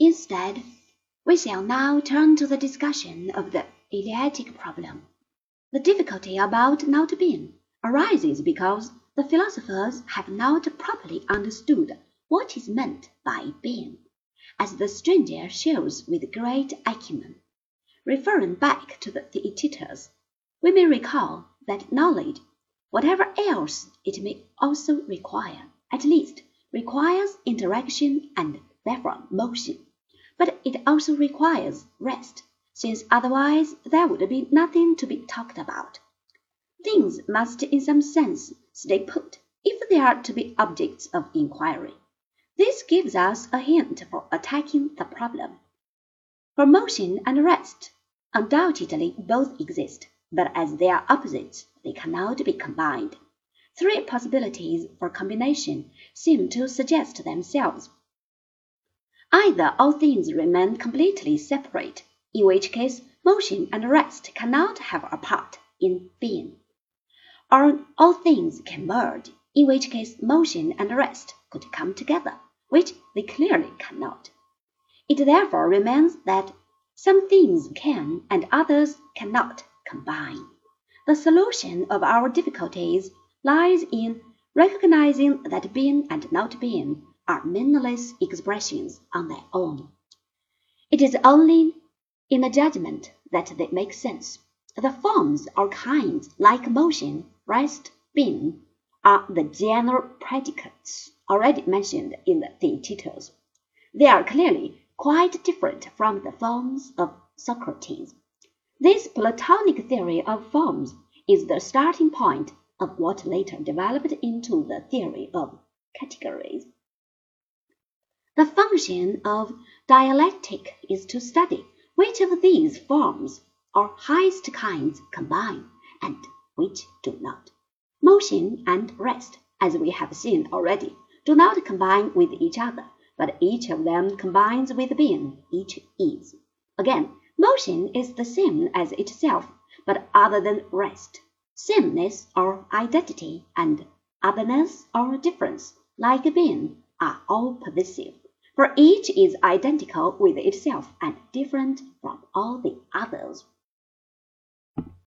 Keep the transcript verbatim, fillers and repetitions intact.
Instead, we shall now turn to the discussion of the eidetic problem. The difficulty about not being arises because the philosophers have not properly understood what is meant by being, as the stranger shows with great acumen. Referring back to the Theaetetus, we may recall that knowledge, whatever else it may also require, at least requires interaction and therefore motion, but it also requires rest, since otherwise there would be nothing to be talked about. Things must in some sense stay put if they are to be objects of inquiry. This gives us a hint for attacking the problem. For motion and rest undoubtedly both exist, but as they are opposites, they cannot be combined. Three possibilities for combination seem to suggest themselves. Either all things remain completely separate, in which case motion and rest cannot have a part in being, or all things can merge, in which case motion and rest could come together, which they clearly cannot. It therefore remains that some things can and others cannot combine. The solution of our difficulties lies in recognizing that being and not being are meaningless expressions on their own. It is only in a judgment that they make sense. The forms or kinds, like motion, rest, being, are the general predicates already mentioned in the Theaetetus. They are clearly quite different from the forms of Socrates. This Platonic theory of forms is the starting point of what later developed into the theory of categories. The function of dialectic is to study which of these forms or highest kinds combine, and which do not. Motion and rest, as we have seen already, do not combine with each other, but each of them combines with being, each is. Again, motion is the same as itself, but other than rest. Sameness or identity and otherness or difference, like being, are all pervasive, for each is identical with itself and different from all the others.